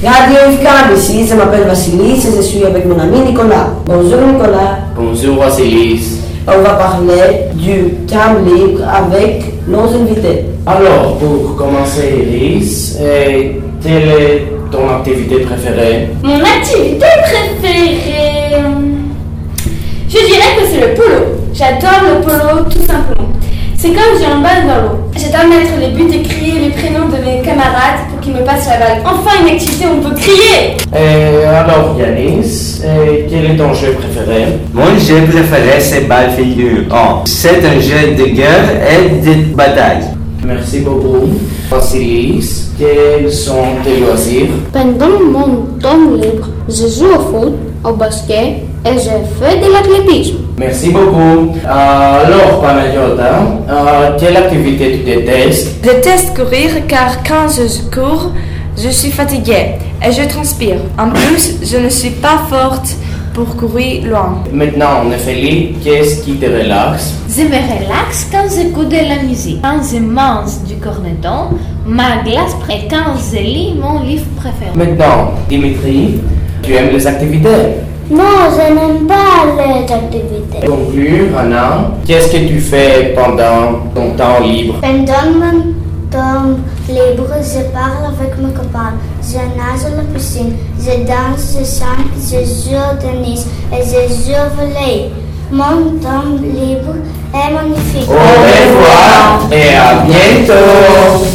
Radio Ifkab ici, je m'appelle Vassilis et je suis avec mon ami Nicolas. Bonjour Nicolas. Bonjour Vassilis. On va parler du temps libre avec nos invités. Alors, pour commencer, Iris, quelle est ton activité préférée? Mon activité préférée, je dirais que c'est le polo. J'adore le polo tout simplement. C'est comme j'ai un balle dans l'eau. J'adore mettre les buts et crier les prénoms de mes camarades pour qu'ils me passent la balle. Enfin une activité où on peut crier. Alors Yanis, quel est ton jeu préféré? Mon jeu préféré c'est Balle Figure. C'est un jeu de guerre et de bataille. Merci beaucoup. Vassilis, quels sont tes loisirs? Pendant mon temps libre, je joue au foot, au basket et je fais de l'athlétisme. Merci beaucoup. Alors, Panayota, quelle activité tu détestes? Je déteste courir car quand je cours, je suis fatiguée et je transpire. En plus, je ne suis pas forte pour courir loin. Maintenant, Néphélie, qu'est-ce qui te relaxe? Je me relaxe quand j'écoute de la musique, quand je mange du corneton, ma glace et quand je lis mon livre préféré. Maintenant, Dimitri, tu aimes les activités? Non, je n'aime pas les activités. Conclure, Anna, qu'est-ce que tu fais pendant ton temps libre? Pendant mon temps libre, je parle avec mes copains, je nage à la piscine, je danse, je chante, je joue au tennis et je joue au volley. Mon temps libre est magnifique. Au revoir et à bientôt!